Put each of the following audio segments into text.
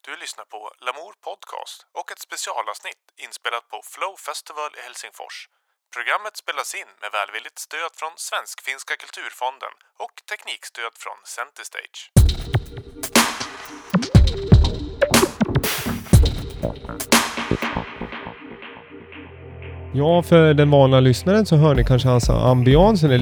Du lyssnar på Lamour Podcast och ett specialavsnitt inspelat på Flow Festival i Helsingfors. Programmet spelas in med välvilligt stöd från Svensk-finska kulturfonden och teknikstöd från Centerstage. Ja, för den vanliga lyssnaren så hör ni kanske hans ambiansen är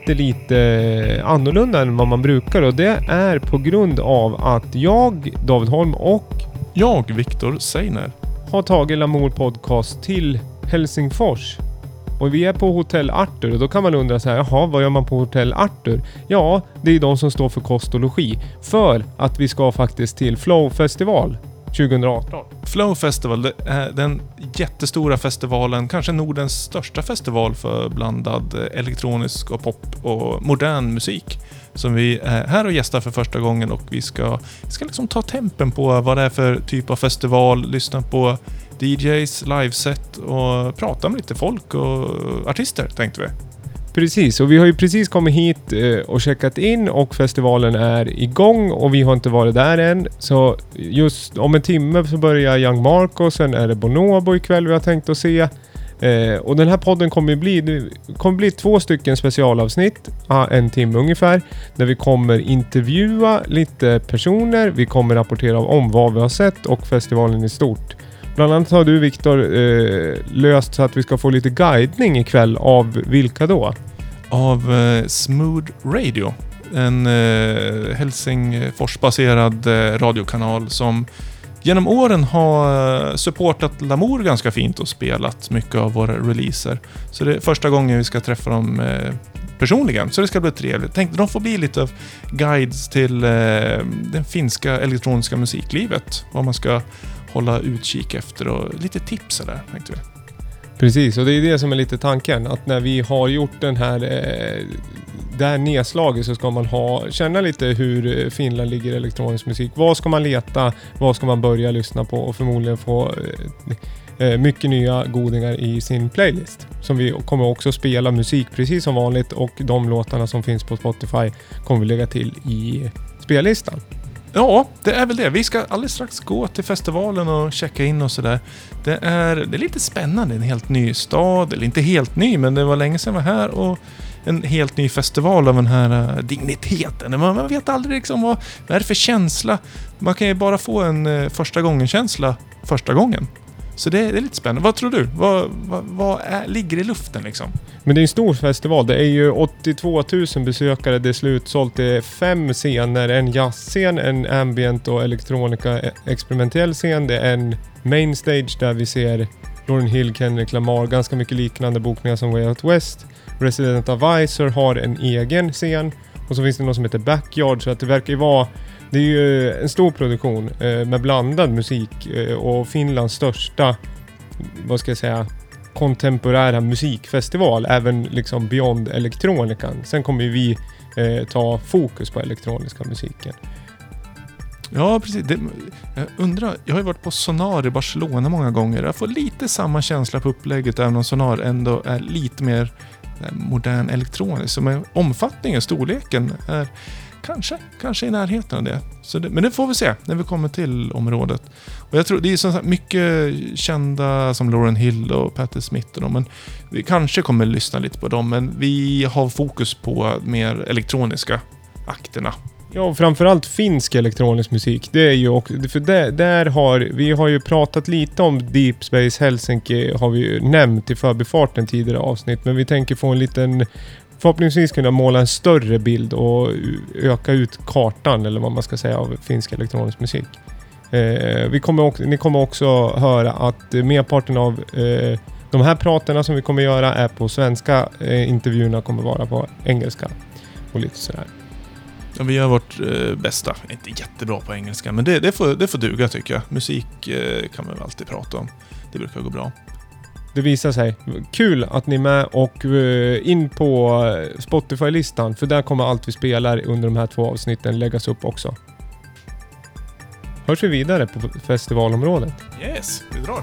lite annorlunda än vad man brukar. Och det är på grund av att jag, David Holm och jag, Viktor Seiner, har tagit Lamour Podcast till Helsingfors. Och vi är på Hotell Arthur och då kan man undra så här, jaha, vad gör man på Hotell Arthur? Ja, det är de som står för kost och logi. För att vi ska faktiskt till Flow Festival 2018. Flow Festival, det är den jättestora festivalen, kanske Nordens största festival för blandad elektronisk och pop och modern musik. Som vi är här och gästar för första gången, och vi ska liksom ta tempen på vad det är för typ av festival, lyssna på DJs, liveset och prata med lite folk och artister, tänkte vi. Precis, och vi har ju precis kommit hit och checkat in och festivalen är igång och vi har inte varit där än. Så just om en timme så börjar Young Marco, sen är det Bonobo ikväll vi har tänkt att se. Och den här podden kommer bli 2 stycken specialavsnitt, en timme ungefär, där vi kommer intervjua lite personer, vi kommer rapportera om vad vi har sett och festivalen i stort. Bland annat har du, Viktor, löst så att vi ska få lite guidning ikväll av vilka då? Av Smooth Radio, en Helsingfors-baserad radiokanal som genom åren har supportat Lamour ganska fint och spelat mycket av våra releaser. Så det är första gången vi ska träffa dem personligen, så det ska bli trevligt. Tänkte de får bli lite av guides till den finska elektroniska musiklivet, vad man ska hålla utkik efter och lite tips där, tänkte vi. Precis, och det är det som är lite tanken, att när vi har gjort den här det här nedslaget så ska man känna lite hur Finland ligger i elektronisk musik. Vad ska man leta, vad ska man börja lyssna på och förmodligen få mycket nya godingar i sin playlist. Som vi kommer också spela musik precis som vanligt, och de låtarna som finns på Spotify kommer vi lägga till i spellistan. Ja, det är väl det. Vi ska alldeles strax gå till festivalen och checka in och sådär. Det är lite spännande. En helt ny stad, eller inte helt ny, men det var länge sedan jag var här, och en helt ny festival av den här digniteten. Man vet aldrig liksom vad är det för känsla. Man kan ju bara få en första gången känsla första gången. Så det är lite spännande. Vad tror du? Vad ligger i luften liksom? Men det är en stor festival. Det är ju 82 000 besökare. Det är slutsålt. Det är 5 scener. En jazzscen, en ambient och elektronika experimentell scen. Det är en main stage där vi ser Lauryn Hill, Kendrick Lamar. Ganska mycket liknande bokningar som Way Out West. Resident Advisor har en egen scen. Och så finns det något som heter Backyard. Så att det verkar ju vara... Det är ju en stor produktion med blandad musik och Finlands största, vad ska jag säga, kontemporära musikfestival, även liksom beyond elektronikan. Sen kommer vi ta fokus på elektroniska musiken. Ja, precis. Jag undrar, jag har ju varit på Sonar i Barcelona många gånger. Jag får lite samma känsla på upplägget, även om Sonar ändå är lite mer modern elektronisk. Så med omfattningen, storleken är kanske i närheten av det. Men det får vi se när vi kommer till området. Och jag tror det är så mycket kända som Lauryn Hill och Patti Smith och dem, men vi kanske kommer lyssna lite på dem, men vi har fokus på mer elektroniska akterna. Ja, och framförallt finsk elektronisk musik. Det är ju också, för vi har ju pratat lite om Deep Space Helsinki, har vi ju nämnt i förbifarten tidigare avsnitt, men vi tänker få en liten, förhoppningsvis kunna måla en större bild och öka ut kartan, eller vad man ska säga, av finsk elektronisk musik. Ni kommer också höra att merparten av de här praterna som vi kommer göra är på svenska, intervjuerna kommer vara på engelska och lite sådär. Ja, vi gör vårt bästa. Inte jättebra på engelska, men det får duga, tycker jag. Musik kan man väl alltid prata om. Det brukar gå bra. Det visar sig. Kul att ni är med, och in på Spotify-listan, för där kommer allt vi spelar under de här 2 avsnitten läggas upp också. Hörs vi vidare på festivalområdet? Yes, vi drar.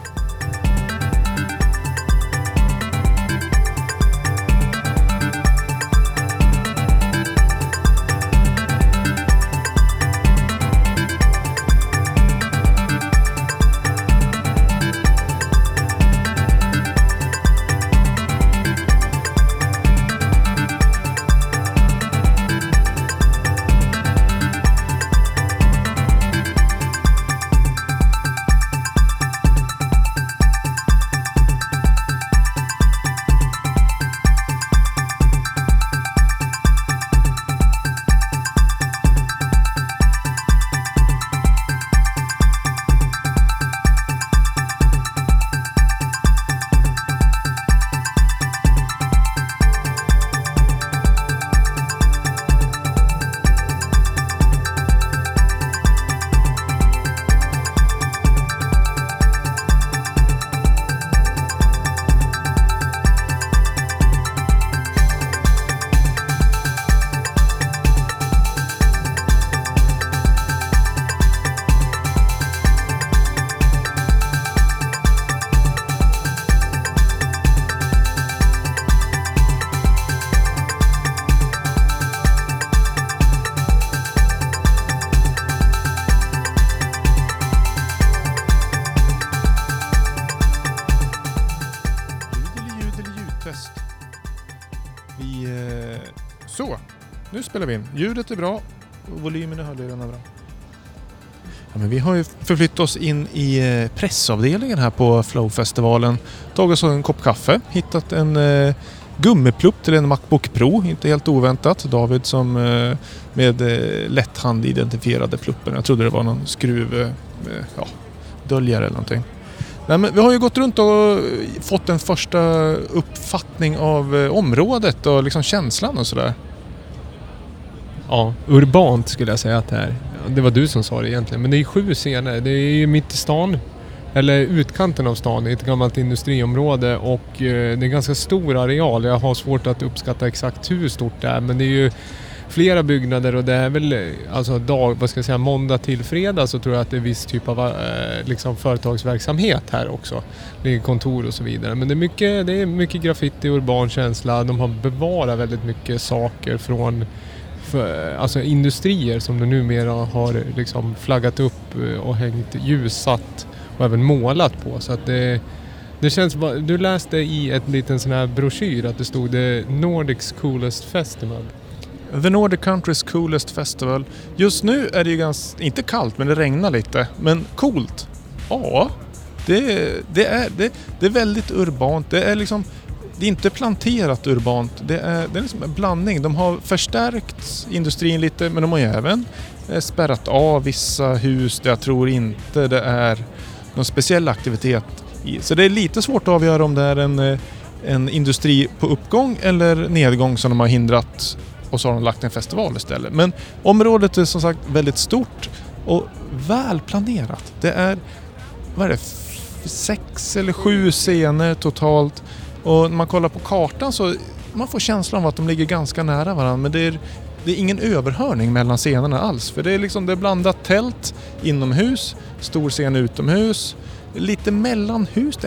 Nu spelar vi in. Ljudet är bra och volymen i hörlurarna är bra. Ja, men vi har ju förflyttat oss in i pressavdelningen här på Flow-festivalen. Tagit oss en kopp kaffe. Hittat en gummiplupp till en MacBook Pro. Inte helt oväntat. David som med lätthand identifierade pluppen. Jag trodde det var någon skruv döljare eller någonting. Nej, men vi har ju gått runt och fått en första uppfattning av området och liksom känslan och sådär. Ja, urbant skulle jag säga att det är. Det var du som sa det egentligen. Men det är 7 scener. Det är ju mitt i stan. Eller utkanten av stan i ett gammalt industriområde. Och det är en ganska stor areal. Jag har svårt att uppskatta exakt hur stort det är. Men det är ju flera byggnader och det är väl alltså måndag till fredag så tror jag att det är viss typ av liksom företagsverksamhet här också. Det är kontor och så vidare. Men det är mycket graffiti och urban känsla. De har bevarat väldigt mycket saker från alltså industrier som de numera har liksom flaggat upp och hängt ljussatt och även målat på. Så att det känns bara, du läste i ett liten sån här broschyr att det stod The Nordics Coolest Festival. The Nordic Country's Coolest Festival. Just nu är det ju ganska, inte kallt men det regnar lite. Men coolt. Ja, det är väldigt urbant. Det är liksom, det är inte planterat urbant. Det är liksom en blandning. De har förstärkt industrin lite men de har ju även spärrat av vissa hus där jag tror inte det är någon speciell aktivitet i. Så det är lite svårt att avgöra om det är en industri på uppgång eller nedgång som de har hindrat och så har de lagt en festival istället. Men området är som sagt väldigt stort och välplanerat. Det är 6 eller 7 scener totalt. Och när man kollar på kartan så man får känslan av att de ligger ganska nära varandra. Men det är ingen överhörning mellan scenerna alls. För det är blandat tält inomhus, stor scen utomhus, lite mellanhus.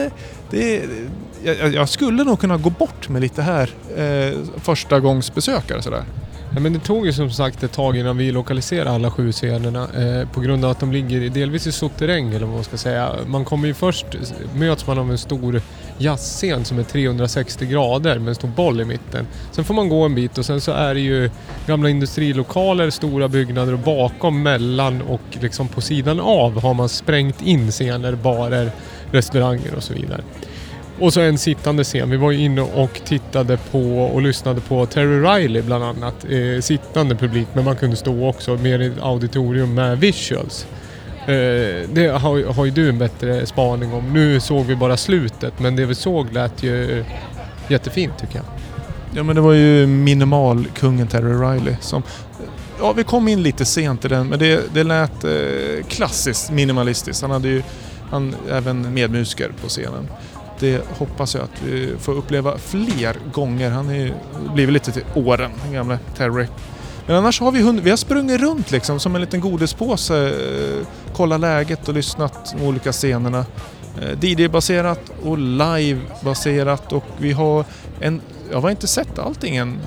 Jag skulle nog kunna gå bort med lite här första gångs besökare sådär. Ja, men det tog ju som sagt ett tag innan vi lokaliserade alla 7 scenerna på grund av att de ligger delvis i sotterräng eller vad man ska säga. Man kommer ju först, möts man av en stor jazzscen som är 360 grader med en stor boll i mitten. Sen får man gå en bit och sen så är det ju gamla industrilokaler, stora byggnader och bakom, mellan och liksom på sidan av har man sprängt in scener, barer, restauranger och så vidare. Och så en sittande scen. Vi var ju inne och tittade på och lyssnade på Terry Riley bland annat. Sittande publik, men man kunde stå också mer i ett auditorium med visuals. Det har ju du en bättre spaning om. Nu såg vi bara slutet, men det vi såg lät ju jättefint tycker jag. Ja, men det var ju minimalkungen Terry Riley som... Ja, vi kom in lite sent i den, men det lät klassiskt minimalistiskt. Han även medmusiker på scenen. Det hoppas jag att vi får uppleva fler gånger. Han är blivit lite till åren, den gamla Terry. Men annars har vi har sprungit runt liksom som en liten godispåse, kolla läget och lyssnat på olika scenerna. DJ-baserat och live-baserat och vi har jag har inte sett allting än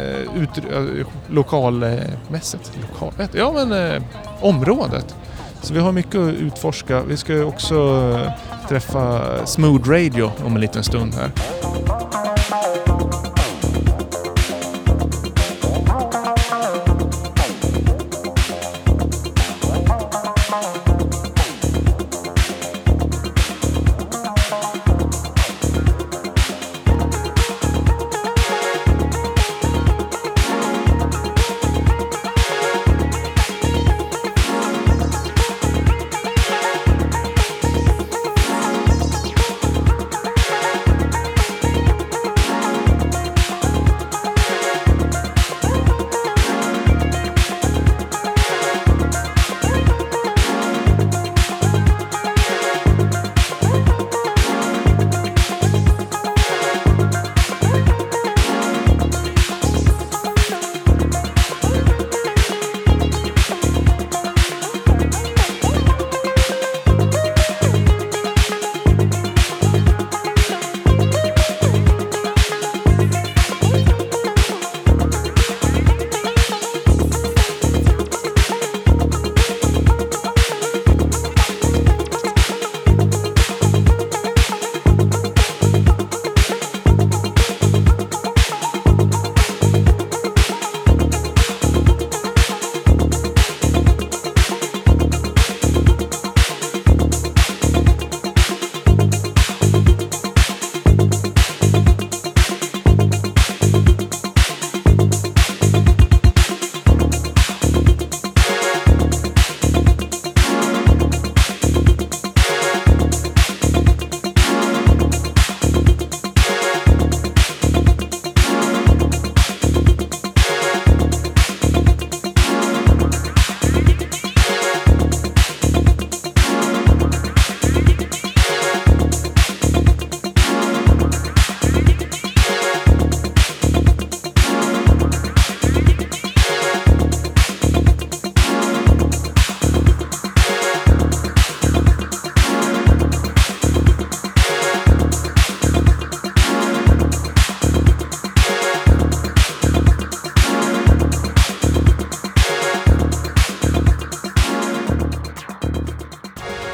lokalmässigt. Området. Så vi har mycket att utforska. Vi ska också träffa Smooth Radio om en liten stund här.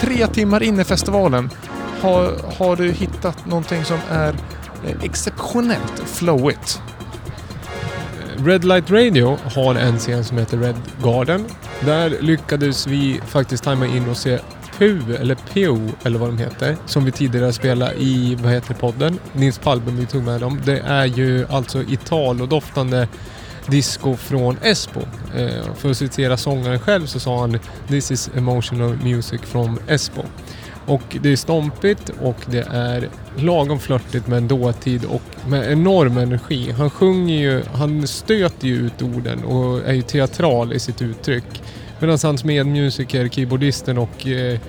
3 timmar in i festivalen. Har du hittat någonting som är exceptionellt flowigt? Red Light Radio har en scen som heter Red Garden. Där lyckades vi faktiskt tajma in och se PU eller vad de heter, som vi tidigare spelade i, podden? Nils Palben, vi tog med dem. Det är ju alltså Italo-doftande disco från Espo. För att citera sångaren själv så sa han "This is emotional music from Espo". Och det är stompigt och det är lagom flörtigt med en dåtid och med enorm energi. Han sjunger ju, han stöter ju ut orden och är ju teatral i sitt uttryck. Medan hans medmusiker, keyboardisten och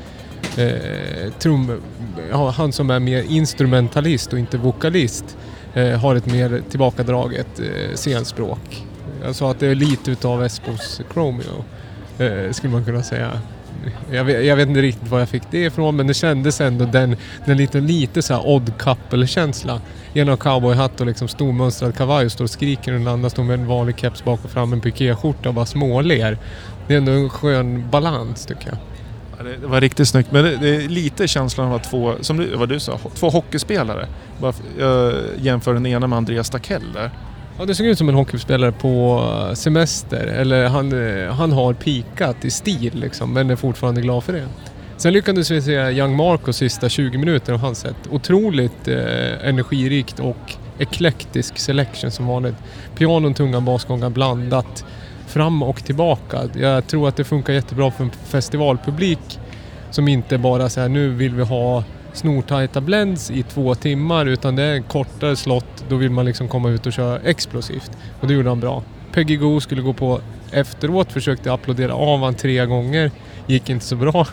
han som är mer instrumentalist och inte vokalist har ett mer tillbakadraget scenspråk. Jag sa att det är lite utav Espos Chromeo, skulle man kunna säga. Jag vet inte riktigt var jag fick det ifrån, men det kändes ändå den lite så här odd couple-känsla. En av cowboyhatt och liksom stormönstrad kavaj och står och skriker och den andra står med en vanlig keps bak och fram, en pikéskjorta och bara småler. Det är ändå en skön balans tycker jag. Ja, det var riktigt snyggt, men det är lite känslan av att vad du sa, 2 hockeyspelare. Jag jämför den ena med Andreas Stakell där. Ja, det såg ut som en hockeyspelare på semester. Eller han har pikat i stil liksom, men är fortfarande glad för det. Sen lyckades vi se Young Marco sista 20 minuter av hans sätt. Otroligt energirikt och eklektisk selection som vanligt. Pianon, tunga, basgångar blandat fram och tillbaka. Jag tror att det funkar jättebra för en festivalpublik som inte bara så här, nu vill vi ha snortajta blends i 2 timmar, utan det är en kortare slott, då vill man liksom komma ut och köra explosivt. Och det gjorde han bra. Peggy Goo skulle gå på efteråt, försökte applådera av han 3 gånger, gick inte så bra.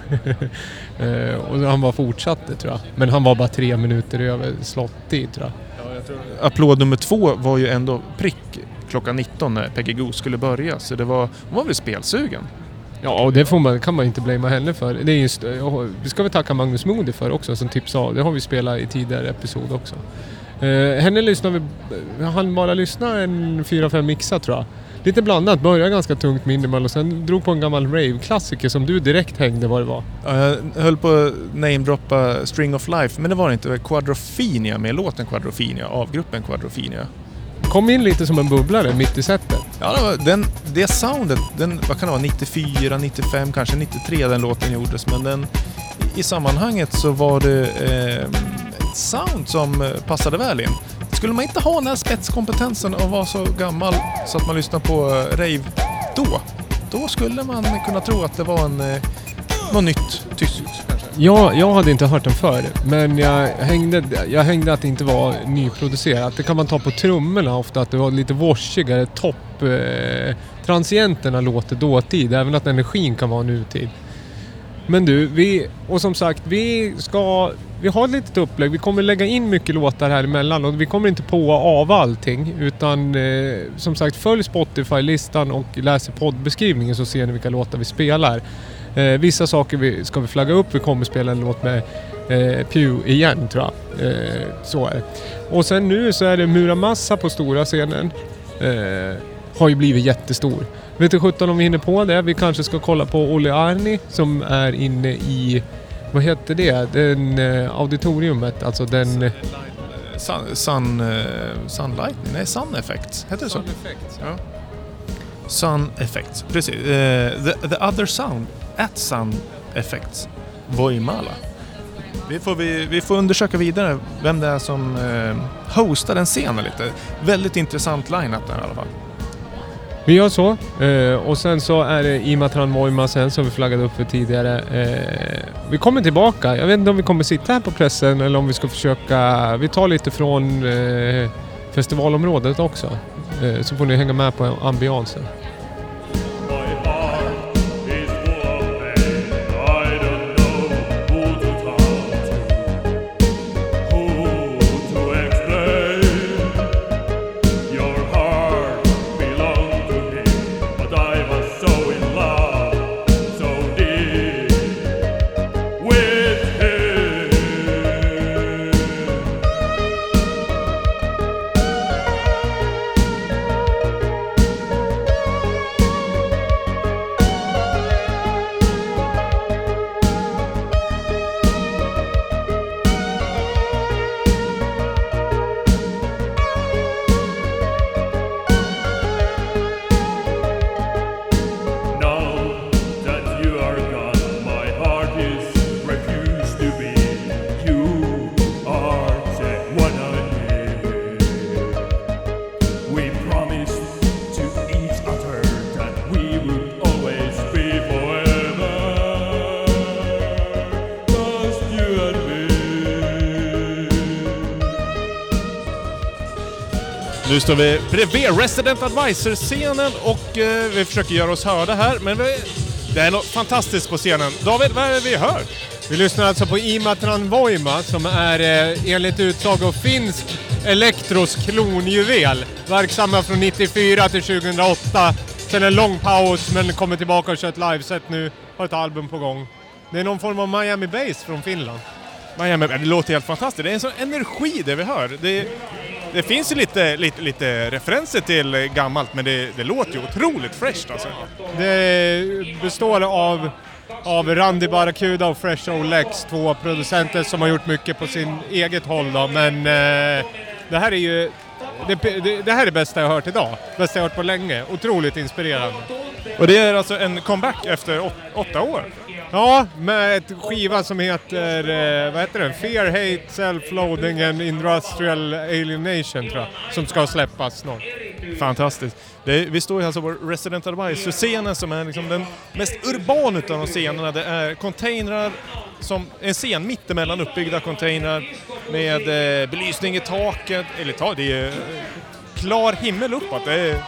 Och han bara fortsatte tror jag. Men han var bara 3 minuter över slottid tror jag. Ja, jag tror... Applåd nummer 2 var ju ändå prick klockan 19 när Peggy Goo skulle börja, så hon var väl spelsugen. Ja, och det kan man inte blamea henne för. Det är just, vi ska väl tacka Magnus Moody för också som tipsade. Det har vi spelat i tidigare episod också. Henne lyssnar han bara lyssna en 4-5 mixar tror jag. Lite blandat, började ganska tungt minimal och sen drog på en gammal rave-klassiker som du direkt hängde vad det var. Jag höll på att namedroppa String of Life, men det var inte Quadrophenia med låten Quadrophenia av gruppen Quadrophenia. Kom in lite som en bubblare mitt i sättet. Ja, det soundet, vad kan det vara, 94, 95, kanske 93 den låten gjordes, men i sammanhanget så var det ett sound som passade väl in. Skulle man inte ha den här spetskompetensen och vara så gammal så att man lyssnar på rave då skulle man kunna tro att det var något nytt tyst. Ja, jag hade inte hört den förr, men jag hängde att det inte var nyproducerat. Det kan man ta på trummorna ofta, att det var lite washigare topp. Transienterna låter dåtid, även att energin kan vara nutid. Men du, som sagt, vi har ett litet upplägg. Vi kommer lägga in mycket låtar här emellan och vi kommer inte på av allting, utan som sagt, följ Spotify-listan och läs poddbeskrivningen så ser ni vilka låtar vi spelar. Vissa saker ska vi flagga upp. Vi kommer spela en låt med Pew igen tror jag. Så är det. Och sen nu så är det Muramasa på stora scenen. Har ju blivit jättestor. Vet du 17 om vi hinner på det. Vi kanske ska kolla på Olli Arni som är inne i, vad heter det? Den auditoriumet, alltså den... Sun Effects. Heter det så? Sun Effects, ja. Sun Effects, precis. The Other Sound at Sun Effects Voimala. Vi får undersöka vidare vem det är som hostar den scenen lite. Väldigt intressant line-up där i alla fall. Vi gör så. Och sen så är det Imatran Voima sen som vi flaggade upp för tidigare. Vi kommer tillbaka. Jag vet inte om vi kommer sitta här på pressen eller om vi ska försöka... Vi tar lite från festivalområdet också. Så får ni hänga med på ambiansen. Nu står vi bredvid Resident Advisor-scenen och vi försöker göra oss hörda här. Men det är något fantastiskt på scenen. David, vad är det vi hör? Vi lyssnar alltså på Imatran Voima som är enligt utsago finsk elektros klonjuvel. Verksamma från 94 till 2008. Sen en lång paus men kommer tillbaka och kör ett liveset nu. Har ett album på gång. Det är någon form av Miami Bass från Finland. Miami, det låter helt fantastiskt. Det är en sån energi det vi hör. Det finns ju lite referenser till gammalt, men det låter ju otroligt fresht alltså. Det består av Randy Barracuda och Fresh Olex, två producenter som har gjort mycket på sin eget håll då, men det här är ju det här är det bästa jag har hört idag. Bästa jag har hört på länge. Otroligt inspirerande. Och det är alltså en comeback efter 8 år? Ja, med ett skiva som heter, vad heter den? Fear, Hate, Self-Loathing and Industrial Alienation tror jag, som ska släppas snart. Fantastiskt. Vi står ju alltså på Resident Advisor-scenen som är liksom den mest urbana utav de scenerna. Det är containrar, som en scen mittemellan uppbyggda containrar med belysning i taket. Eller det är klar himmel uppåt. Det är...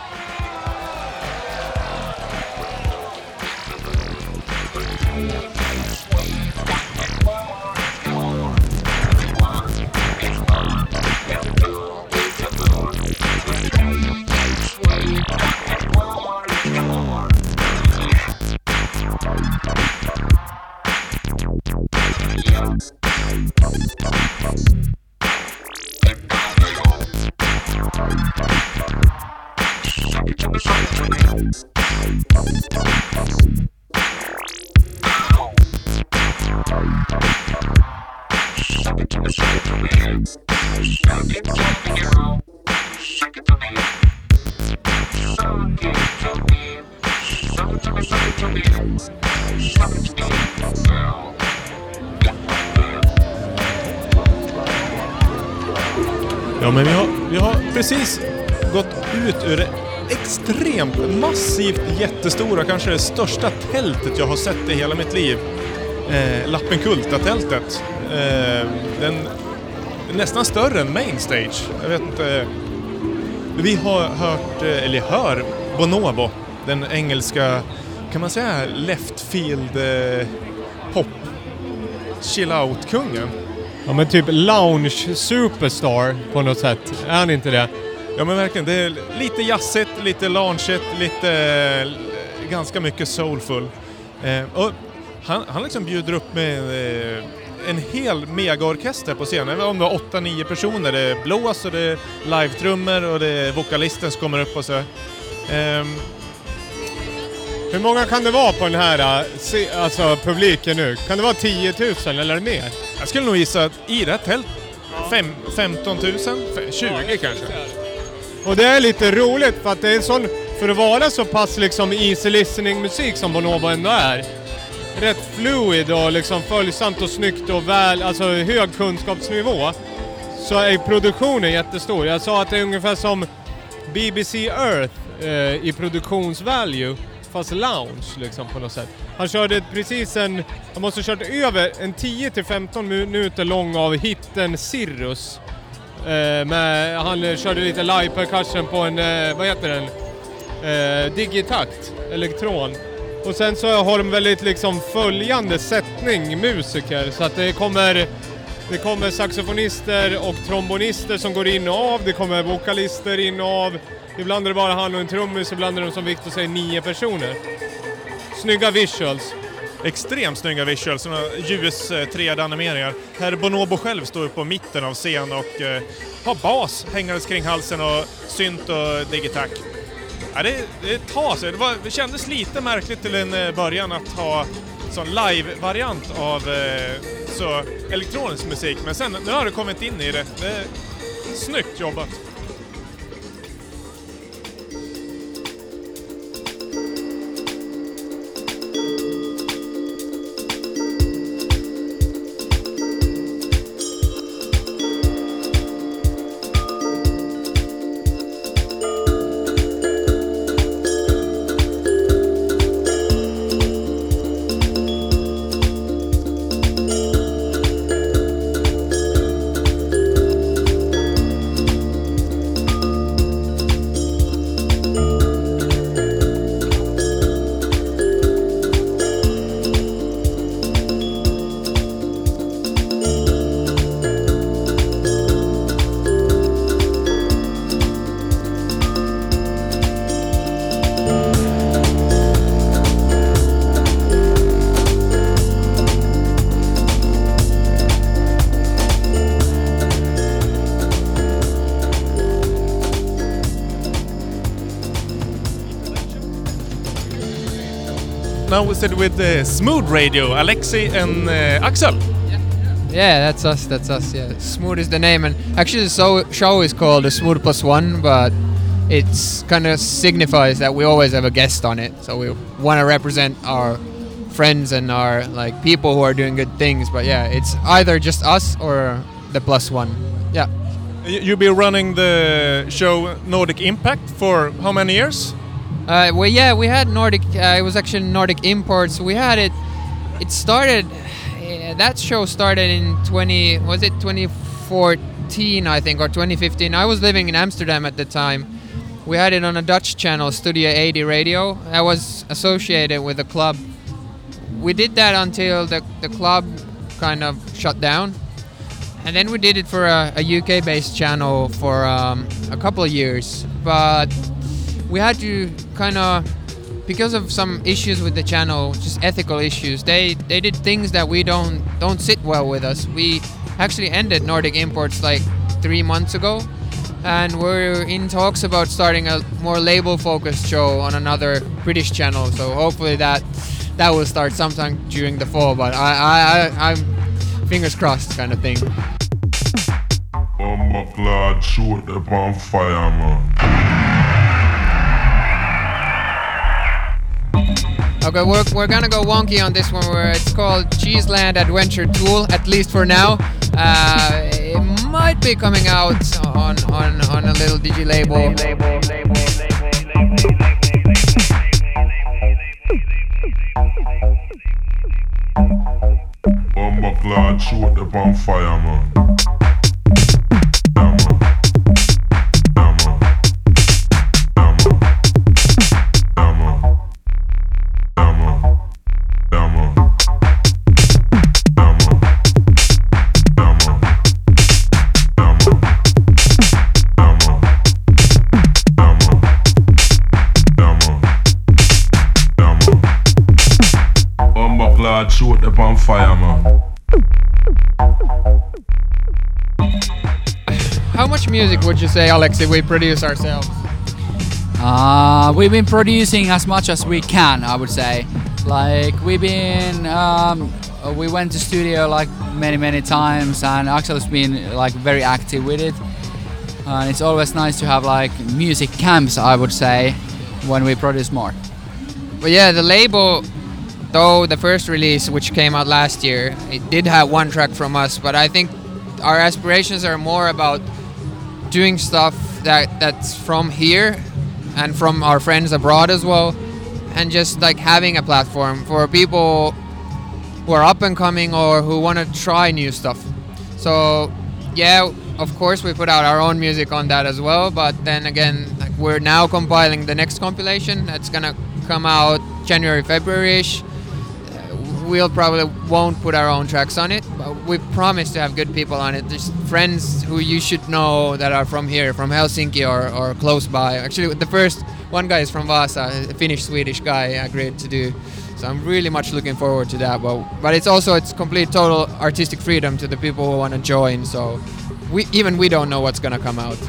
Ja, men vi har precis gått ut ur det extremt massivt jättestora, kanske det största tältet jag har sett i hela mitt liv. Lappenkulta-tältet. Den är nästan större än Mainstage. Jag vet inte. Vi har hör Bonobo, den engelska, kan man säga, left field pop chill out-kungen. Ja, men typ lounge superstar på något sätt. Är han inte det? Ja, men verkligen. Det är lite jazzigt, lite loungeigt, lite ganska mycket soulful. Och han liksom bjuder upp med en hel megaorkester på scenen. Om det var 8-9 personer. Det är blås och det är live-trummor och det är vokalisten som kommer upp och så. Hur många kan det vara på den här publiken nu? Kan det vara 10 000 eller mer? Jag skulle nog gissa att i det här tält 15 000, 20 kanske. Och det är lite roligt för att det är en sån, för att vara så pass liksom easy listening musik som Bonobo ändå är. Rätt fluid och liksom följsamt och snyggt och väl, alltså hög kunskapsnivå. Så är produktionen jättestor. Jag sa att det är ungefär som BBC Earth i produktionsvalue. Fast lounge liksom på något sätt. Han körde precis han måste ha kört över en 10-15 minuter lång av hitten Cirrus. Han körde lite live percussion på en, vad heter den? Digitakt, elektron. Och sen så har de väldigt liksom följande sättning musiker. Så att det kommer saxofonister och trombonister som går in och av. Det kommer vokalister in och av. Ibland är det bara han och en trummis, ibland är de som Victor säger 9 personer. Snygga visuals. Extremt snygga visuals, såna ljus 3D-animeringar. Här Bonobo själv står på mitten av scen och har bas hängandes kring halsen och synt och digitack. Ja, det tar sig. Det kändes lite märkligt till en början att ha sån live-variant av så elektronisk musik. Men sen, nu har det kommit in i det. Det är snyggt jobbat. now we sit with Smooth Radio, Alexei and Axel. Yeah, that's us. Yeah, Smooth is the name, and actually the show is called the Smooth Plus One, but it's kind of signifies that we always have a guest on it. So we want to represent our friends and our like people who are doing good things. But yeah, it's either just us or the Plus One. Yeah. You'll be running the show Nordic Impact for how many years? We had Nordic. It was actually Nordic Imports. We had it. It started. That show started in 2014, I think, or 2015. I was living in Amsterdam at the time. We had it on a Dutch channel, Studio 80 Radio. I was associated with the club. We did that until the club kind of shut down. And then we did it for a UK-based channel for a couple of years. But we had to kind of, because of some issues with the channel, just ethical issues, they did things that we don't sit well with us. We actually ended Nordic Imports like 3 months ago, and we're in talks about starting a more label-focused show on another British channel. So hopefully that will start sometime during the fall. But I'm fingers crossed kind of thing. Oh my God, shoot the bonfire, man. Okay, we're gonna go wonky on this one. Where it's called Cheeseland Adventure Tool, at least for now. It might be coming out on a little digi label. Oh my God, shoot the bonfire, man. Shoot the bonfire, man. How much music would you say, Alexei, we produce ourselves? We've been producing as much as we can, I would say. Like we went to studio like many times, and Axel's been like very active with it. And it's always nice to have like music camps, I would say, when we produce more. But yeah, the label, though the first release, which came out last year, it did have one track from us, but I think our aspirations are more about doing stuff that's from here and from our friends abroad as well, and just like having a platform for people who are up and coming or who want to try new stuff. So yeah, of course we put out our own music on that as well, but then again, like we're now compiling the next compilation that's gonna come out January, February-ish. We'll probably won't put our own tracks on it, but we promise to have good people on it. There's friends who you should know that are from here, from Helsinki or close by. Actually, the first one guy is from Vasa, a Finnish-Swedish guy agreed to do. So I'm really much looking forward to that. But it's also, it's complete total artistic freedom to the people who want to join. So we don't know what's gonna come out.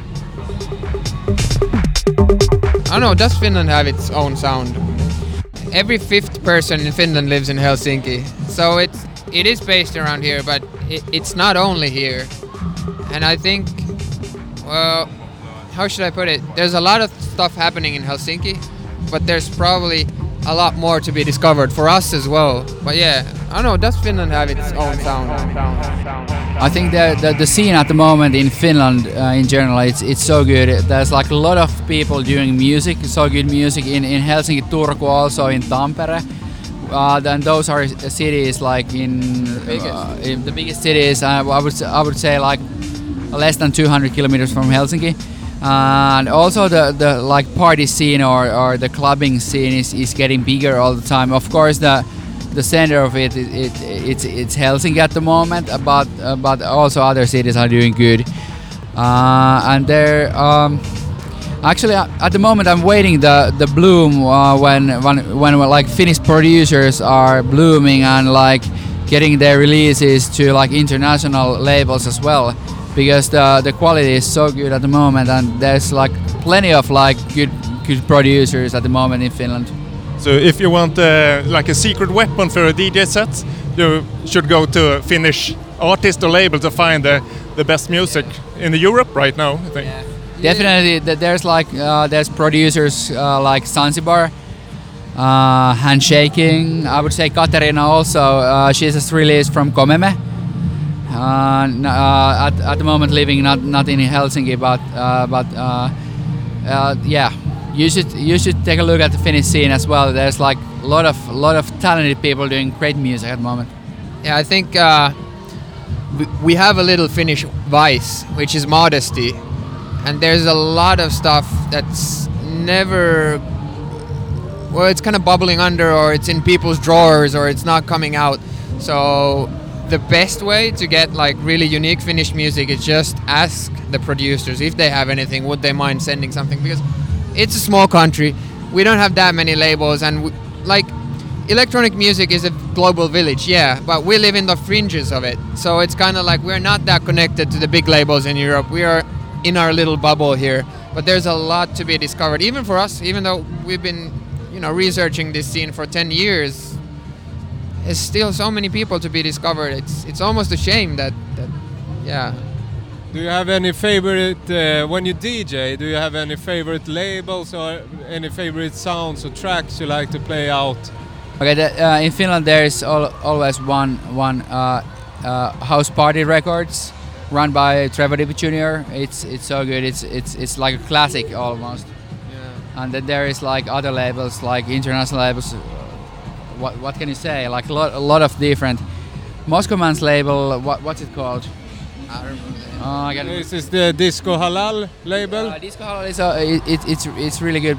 I don't know, does Finland have its own sound? Every fifth person in Finland lives in Helsinki, so it is based around here, but it's not only here. And I think, well, how should I put it? There's a lot of stuff happening in Helsinki, but there's probably a lot more to be discovered for us as well. But yeah, I don't know, does Finland have its own sound? I think the scene at the moment in Finland in general, it's so good. There's like a lot of people doing music, so good music in Helsinki, Turku, also in Tampere. Then those are cities like in the biggest cities. I would say like less than 200 kilometers from Helsinki. And also the like party scene or the clubbing scene is getting bigger all the time. Of course, the center of it's Helsinki at the moment, but also other cities are doing good. And they're actually at the moment I'm waiting the bloom when like Finnish producers are blooming and like getting their releases to like international labels as well, because the quality is so good at the moment, and there's like plenty of like good producers at the moment in Finland. So if you want like a secret weapon for a DJ set, you should go to a Finnish artist or label to find the best music in Europe right now, I think. Definitely, there's like there's producers like Zanzibar, Handshaking. I would say Katerina also. She's just released from Komeme. At the moment, living not in Helsinki, but yeah, you should take a look at the Finnish scene as well. There's like a lot of talented people doing great music at the moment. Yeah, I think we have a little Finnish vice, which is modesty. And there's a lot of stuff that's never... Well, it's kind of bubbling under, or it's in people's drawers, or it's not coming out. So the best way to get like really unique Finnish music is just ask the producers if they have anything, would they mind sending something? Because it's a small country, we don't have that many labels, and like electronic music is a global village, yeah, but we live in the fringes of it. So it's kind of like we're not that connected to the big labels in Europe. We are in our little bubble here, but there's a lot to be discovered, even for us. Even though we've been, researching this scene for 10 years, there's still so many people to be discovered. It's almost a shame that yeah. Do you have any favorite when you DJ? Do you have any favorite labels or any favorite sounds or tracks you like to play out? Okay, in Finland there is always one House Party Records, run by Trevor Dippy Jr. It's so good. It's like a classic almost. Yeah. And then there is like other labels, like international labels. What can you say? Like a lot of different. Moscow Man's label. What's it called? I don't remember. This is the Disco Halal label. Disco Halal is it's really good.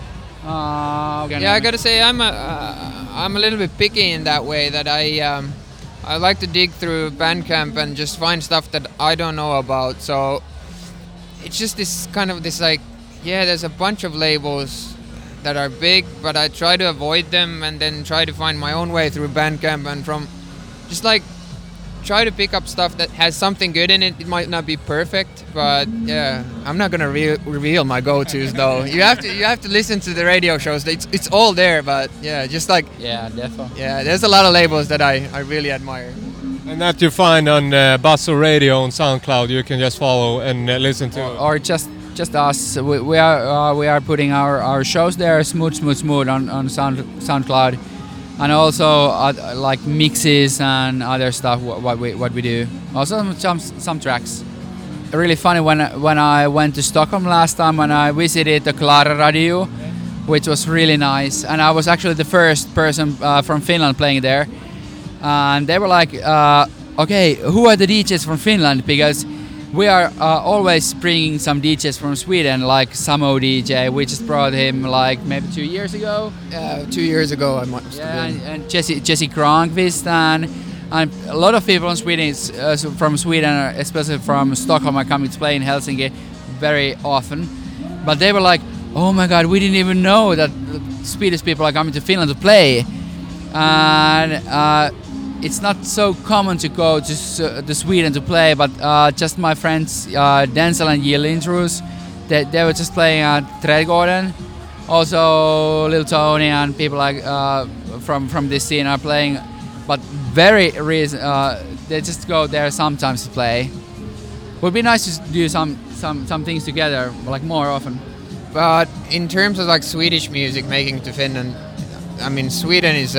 Yeah, I gotta say I'm a little bit picky in that way, that I like to dig through Bandcamp and just find stuff that I don't know about. So it's just this like, yeah, there's a bunch of labels that are big, but I try to avoid them and then try to find my own way through Bandcamp, and from just like try to pick up stuff that has something good in it. It might not be perfect, but yeah, I'm not gonna reveal my go-tos though. You have to listen to the radio shows. It's all there, but yeah, just like definitely. Yeah, there's a lot of labels that I really admire. And that you find on Basso Radio on SoundCloud. You can just follow and listen to. Or just us. We are putting our shows there, smooth on SoundCloud. And also like mixes and other stuff what we do. Also some tracks. Really funny when I went to Stockholm last time, when I visited the Klara Radio, which was really nice. And I was actually the first person from Finland playing there. And they were like, okay, who are the DJs from Finland? Because we are always bringing some DJs from Sweden, like Samo DJ. We just brought him like maybe 2 years ago. 2 years ago I must have been. And Jesse Kronqvist and a lot of people in Sweden, from Sweden, especially from Stockholm, are coming to play in Helsinki very often. But they were like, oh my god, we didn't even know that Swedish people are coming to Finland to play. And it's not so common to go to Sweden to play, but just my friends Denzel and Jill Lindros, they were just playing at Trädgården. Also Lil Tony and people like from this scene are playing, but they just go there sometimes to play. Would be nice to do some things together, like more often. But in terms of like Swedish music making to Finland, I mean Sweden is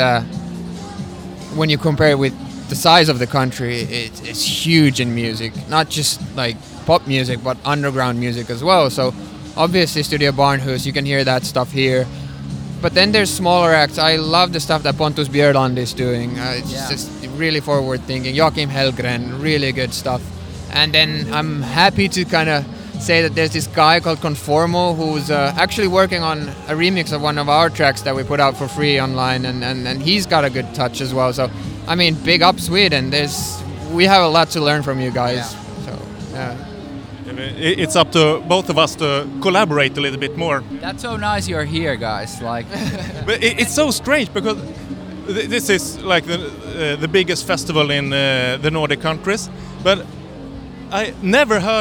when you compare it with the size of the country, it's huge in music. Not just like pop music, but underground music as well. So obviously Studio Barnhus, you can hear that stuff here. But then there's smaller acts. I love the stuff that Pontus Björland is doing. It's just really forward thinking. Joakim Hellgren, really good stuff. And then I'm happy to kind of say that there's this guy called Conformo who's actually working on a remix of one of our tracks that we put out for free online, and he's got a good touch as well. So I mean, big up Sweden. We have a lot to learn from you guys. Yeah. So yeah. It's up to both of us to collaborate a little bit more. That's so nice you're here, guys. Like, but it's so strange because this is like the biggest festival in the Nordic countries, but I never heard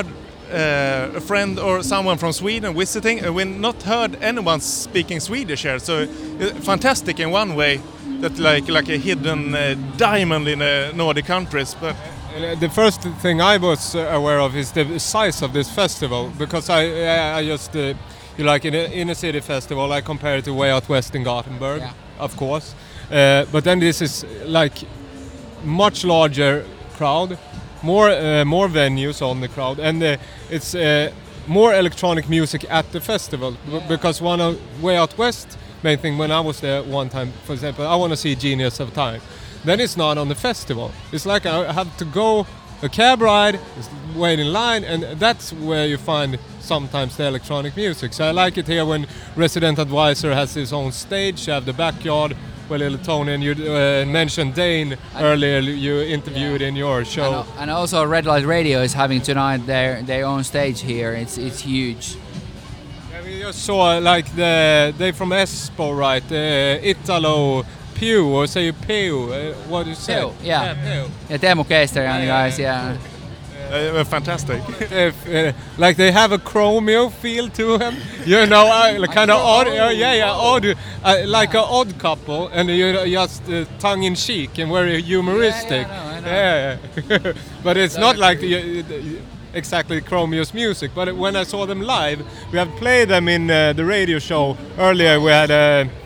a friend or someone from Sweden visiting, and we've not heard anyone speaking Swedish here. So fantastic in one way, that like a hidden diamond in the Nordic countries. But the first thing I was aware of is the size of this festival, because I just like in a inner city festival, I compare it to Way Out West in Gothenburg, of course. But then this is like much larger crowd, more venues on the crowd, and it's more electronic music at the festival. Because one of Way Out West main thing when I was there one time, for example, I want to see Genius of Time. Then it's not on the festival. It's like I have to go a cab ride, wait in line, and that's where you find sometimes the electronic music. So I like it here when Resident Advisor has his own stage. You have the backyard where Little Tony, and you mentioned Dane earlier, you interviewed in your show. And also Red Light Radio is having tonight their own stage here. It's huge. Yeah, we just saw like they from Espo, right? Italo Pew, or say you Pew, what do you say? Pew, yeah. Pew. Yeah, Teemu Keister and the guys, yeah. Fantastic. Like they have a Chromeo feel to them, you know, kind of odd, odd, like an odd couple, and you're just tongue in cheek and very humoristic. I know. But it's not like exactly Chromeo's music. But when I saw them live, we have played them in the radio show earlier. We had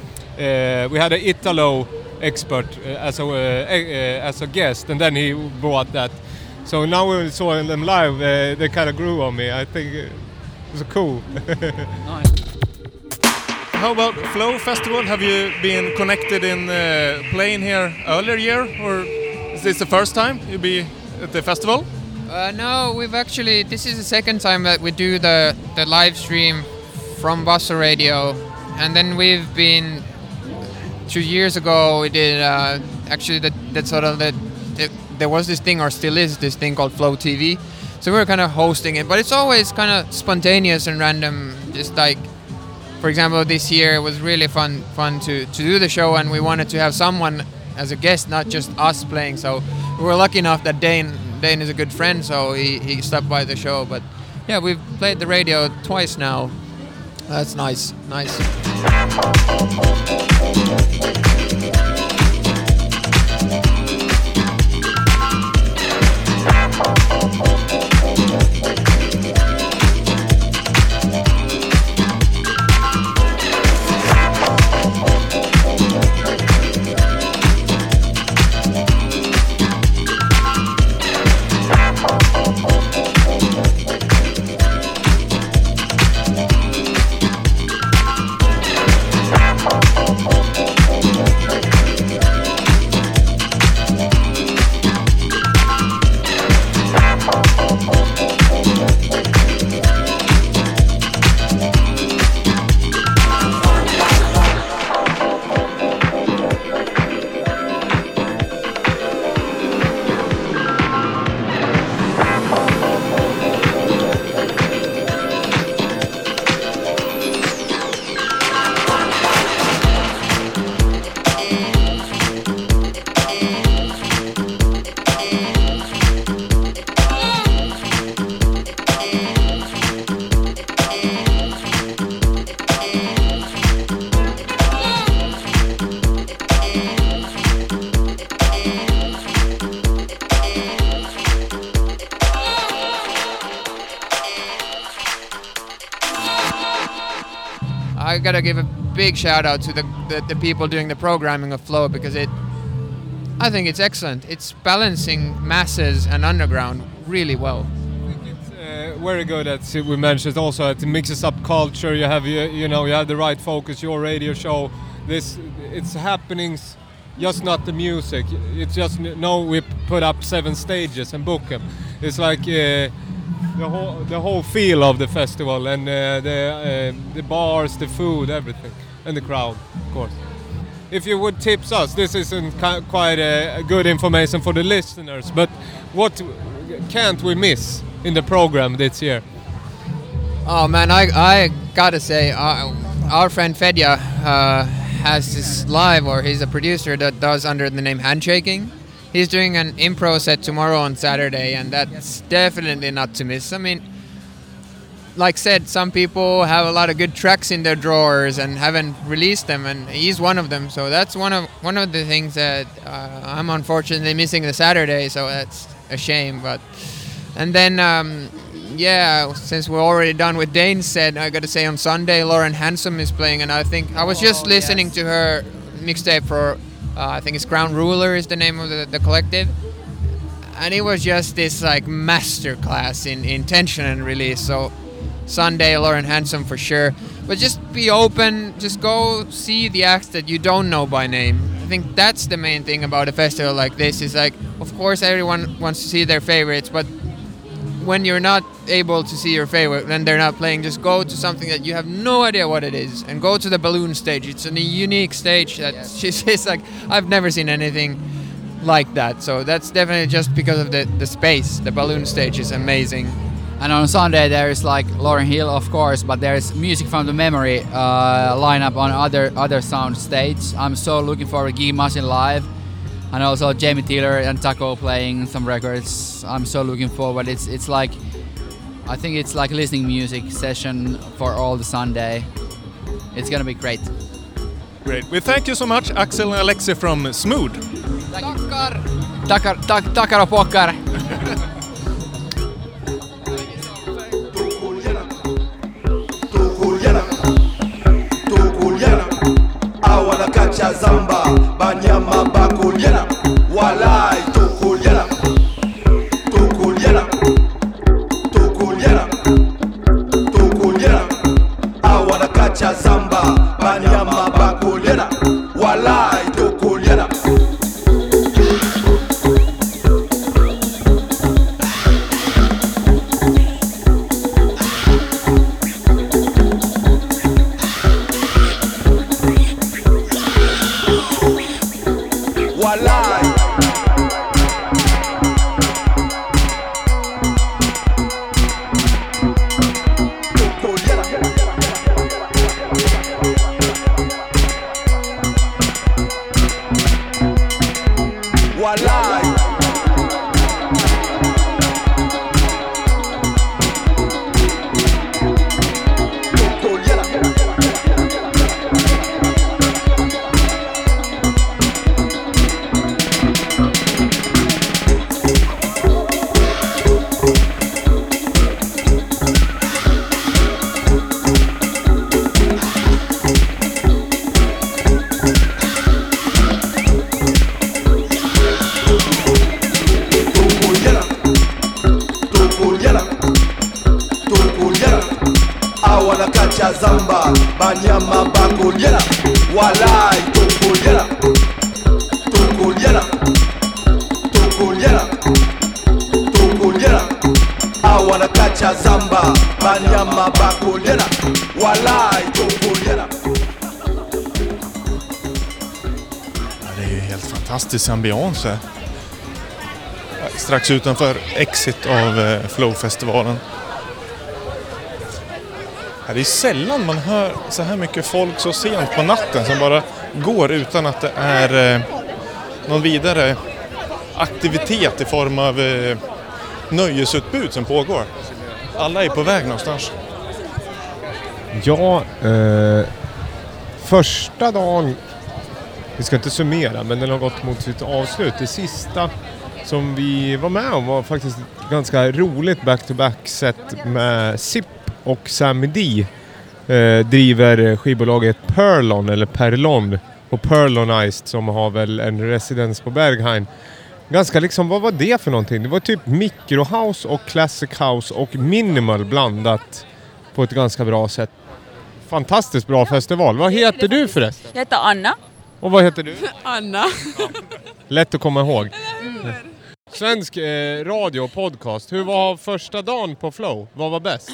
a Italo expert as a guest, and then he brought that. So now we saw them live, they kind of grew on me. I think it was cool. Nice. How about Flow Festival? Have you been connected in playing here earlier year, or is this the first time you be at the festival? No, this is the second time that we do the live stream from Bossa Radio, and then we've been 2 years ago we did there was this thing, or still is this thing called Flow TV, so we were kind of hosting it, but it's always kind of spontaneous and random. Just like, for example, this year it was really fun to do the show, and we wanted to have someone as a guest, not just us playing. So we were lucky enough that Dane is a good friend, so he stopped by the show. But yeah, we've played the radio twice now. That's nice. I gotta give a big shout out to the people doing the programming of Flow, because I think it's excellent. It's balancing masses and underground really well. It's very good. As we mentioned also, it mixes up culture. You have you have the right focus. Your radio show, it's happenings, just not the music. It's just we put up 7 stages and book them. It's like the whole feel of the festival, and the bars, the food, everything, and the crowd, of course. If you would tips us, this isn't quite a good information for the listeners, but what can't we miss in the program this year? Oh man, I gotta say, our friend Fedja has this live, or he's a producer that does under the name Handshaking. He's doing an improv set tomorrow on Saturday, and that's definitely not to miss. I mean, like said, some people have a lot of good tracks in their drawers and haven't released them, and he's one of them. So that's one of the things that I'm unfortunately missing the Saturday. So that's a shame. But and then since we're already done with Dane's set, I got to say on Sunday Lauren Handsome is playing, and I think I was just listening to her mixtape for I think it's Crown Ruler is the name of the collective. And it was just this like masterclass in tension and release. So Sunday, Lauren Handsome for sure. But just be open, just go see the acts that you don't know by name. I think that's the main thing about a festival like this is like, of course everyone wants to see their favorites, but when you're not able to see your favorite, when they're not playing, just go to something that you have no idea what it is, and go to the balloon stage. It's a unique stage that she says like, I've never seen anything like that. So that's definitely just because of the space. The balloon stage is amazing. And on Sunday there is like Lauryn Hill, of course, but there is Music from the Memory lineup on other sound stages. I'm so looking forward to Gigi Machine live, and also Jamie Taylor and Taco playing some records. I'm so looking forward. It's like, I think it's like listening music session for all the Sunday. It's gonna be great. Great. We thank you so much, Axel and Alexi from Smooth. Tackar och pockar. Awana kacha zamba banyama bakuliana walai tukuliana awana kacha zamba banyama bakuliana walai tukuliana. Zamba banyama bakuliana walai tukuliana awana kacha zamba banyama bakuliana walai tukuliana. Det är ju helt fantastisk ambiance här. Strax utanför exit av Flow-festivalen. Det är sällan man hör så här mycket folk så sent på natten som bara går utan att det är någon vidare aktivitet i form av nöjesutbud som pågår. Alla är på väg någonstans. Ja, första dagen, vi ska inte summera, men den har gått mot sitt avslut. Det sista som vi var med om var faktiskt ett ganska roligt back-to-back-set med Zip och Sammy D. Driver skivbolaget Perlon eller Perlon och Perlonized som har väl en residens på Berghain. Ganska liksom, vad var det för någonting? Det var typ microhouse och classic house och minimal blandat på ett ganska bra sätt. Fantastiskt bra festival. Vad heter du förresten? Jag heter Anna. Och vad heter du? Anna. Lätt att komma ihåg. Svensk radio och podcast. Hur var första dagen på Flow? Vad var bäst?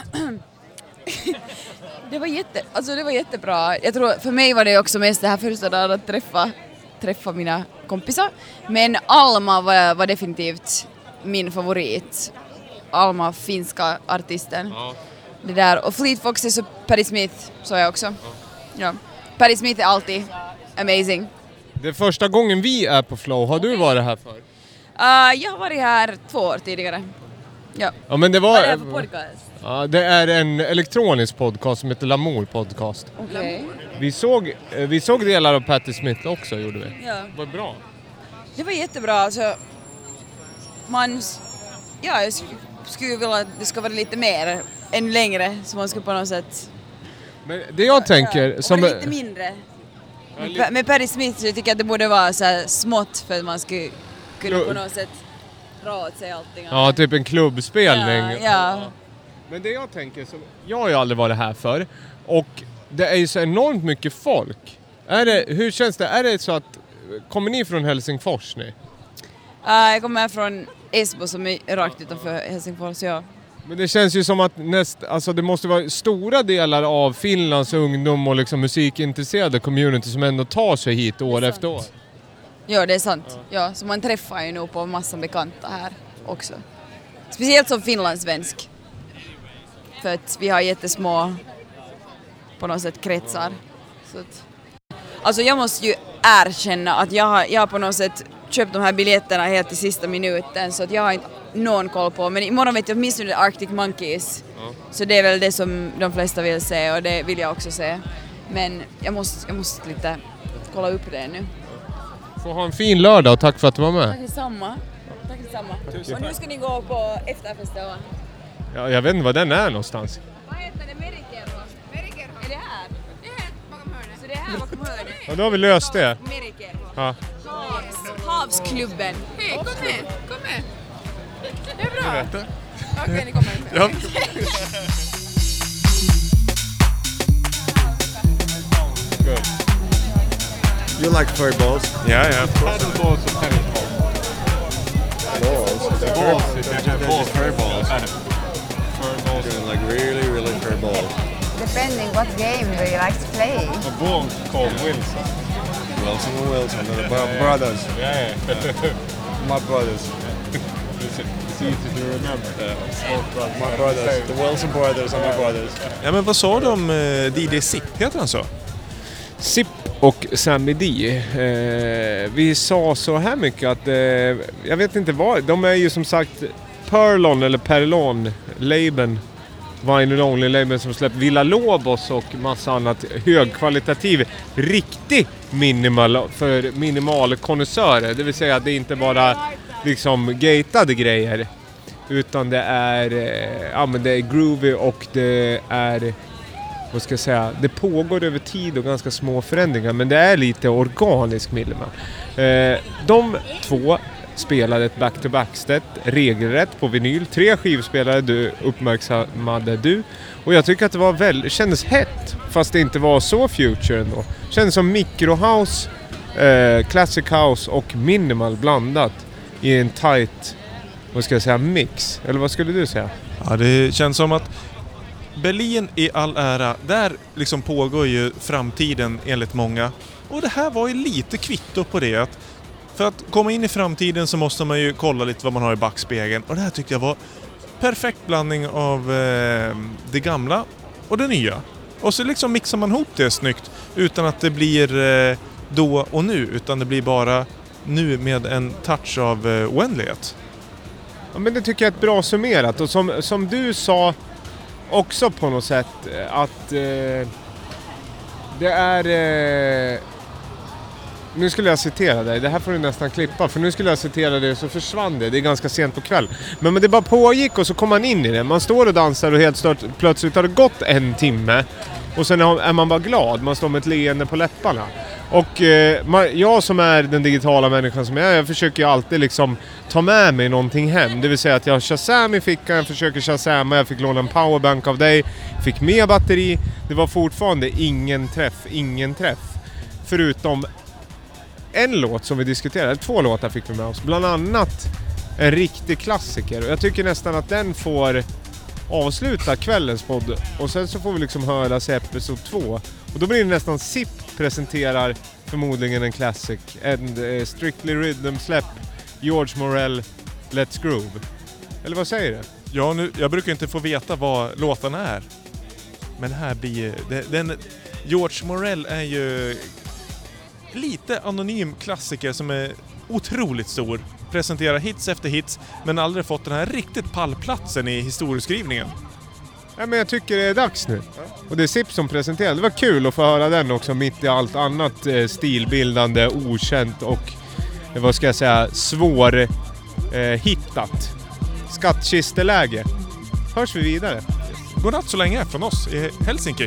Det var jättebra. Jag tror för mig var det också mest det här första dagen att träffa mina kompisar. Men Alma var definitivt min favorit. Alma, finska artisten. Ja. Det där. Och Fleet Foxes och Patti Smith så jag också. Ja. Patti Smith är alltid amazing. Det är första gången vi är på Flow. Har du varit här för? Jag har varit här 2 år tidigare. Ja, men det Vad var... är det för podcast? Ja, det är en elektronisk podcast som heter Lamour Podcast. Okej. Vi såg delar av Patti Smith också, gjorde vi. Ja. Var bra. Det var jättebra. Alltså, jag skulle vilja att det ska vara lite mer, än längre, så man ska på något sätt... Men det jag tänker... och som lite mindre. Med Patti Smith så jag tycker att det borde vara så här smått för att man skulle kunna på något sätt dra åt sig allting. Ja, typ en klubbspelning. Ja. Men det jag tänker, jag har ju aldrig varit här för, och det är ju så enormt mycket folk. Hur känns det? Är det så att, kommer ni från Helsingfors nu? Jag kommer från Esbo som är rakt utanför Helsingfors, ja. Men det känns ju som att alltså det måste vara stora delar av Finlands ungdom och liksom musikintresserade community som ändå tar sig hit år efter år. Ja, det är sant. Ja, så man träffar ju nog på massa bekanta här också. Speciellt som finlandssvensk. För att vi har jättesmå på något sätt kretsar. Så att, alltså jag måste ju erkänna att jag har på något sätt köpt de här biljetterna helt i sista minuten, så att jag har inte någon koll på. Men imorgon vet jag åtminstone Arctic Monkeys. Ja. Så det är väl det som de flesta vill se, och det vill jag också se. Men jag måste lite kolla upp det nu. Får ha en fin lördag och tack för att du var med. Tack detsamma. Och nu ska ni gå på efterfesten, va? Ja, jag vet inte vad den är någonstans. Vad heter det? Merikerho? Är det här? Det är här bakom hörnet. Så det är här bakom hörnet? Ja, då har vi löst det. Merikerho. Ja. Havsklubben. Hej, kom med. Det är bra. Jag vet det. Okej, ni kommer inte. Ja. Good. You like furry balls? Yeah. Paddle balls or tennis balls? Balls? They're just furry balls. Furry balls. Like really furry balls. Depending what game do you like to play? A ball called Wilson. Wilson and Wilson, they're brothers. Yeah. My brothers. It's easy to remember. My brothers. The Wilson brothers are my brothers. Ja, men vad sa du om DJ Zip? Heter han så? Zip och Sammy D. Vi sa så här mycket att jag vet inte vad. De är ju som sagt Perlon eller Perlon labeln. Vinyl Only labeln som släppt Villa Lobos och massa annat högkvalitativ, riktig minimal konnässörer. Det vill säga att det inte bara liksom gatade grejer, utan det är men det är groovy och det är, vad ska jag säga, det pågår över tid och ganska små förändringar, men det är lite organisk minimal. De två spelade ett back-to-back-set regelrätt på vinyl. 3 skivspelare uppmärksammade du. Och jag tycker att det kändes hett, fast det inte var så future ändå. Kändes som microhouse, classic house och minimal blandat i en tight, vad ska jag säga, mix. Eller vad skulle du säga? Ja, det känns som att Berlin i all ära, där liksom pågår ju framtiden enligt många. Och det här var ju lite kvitto på det, att för att komma in i framtiden så måste man ju kolla lite vad man har i backspegeln. Och det här tyckte jag var perfekt blandning av det gamla och det nya. Och så liksom mixar man ihop det snyggt utan att det blir då och nu, utan det blir bara nu med en touch av oändlighet. Ja, men det tycker jag är ett bra summerat. Och som du sa också på något sätt, att det är... Nu skulle jag citera dig. Det här får du nästan klippa. För nu skulle jag citera dig, så försvann det. Det är ganska sent på kväll. Men det bara pågick och så kom man in i det. Man står och dansar och helt plötsligt har det gått 1 timme. Och sen är man bara glad. Man står med ett leende på läpparna. Och jag som är den digitala människan som jag försöker ju alltid liksom ta med mig någonting hem. Det vill säga att jag har Shazam i fickan. Jag försöker Shazama. Jag fick låna en powerbank av dig. Fick med batteri. Det var fortfarande ingen träff. Förutom en låt som vi diskuterade, 2 låtar fick vi med oss. Bland annat en riktig klassiker. Och jag tycker nästan att den får avsluta kvällens podd. Och sen så får vi liksom höra sig episod 2. Och då blir det nästan Zip presenterar förmodligen en classic. En Strictly Rhythm släpp. George Morel, Let's Groove. Eller vad säger du? Ja, jag brukar inte få veta vad låtarna är. Men här blir George Morel är ju lite anonym klassiker som är otroligt stor. presentera hits efter hits, men aldrig fått den här riktigt pallplatsen i historieskrivningen. Ja, men jag tycker det är dags nu. Och det är Sips som presenterade. Det var kul att få höra den också mitt i allt annat stilbildande, okänt och vad ska jag säga, svår hittat. Skattkisteläge. Hörs vi vidare. Godnatt så länge från oss i Helsinki.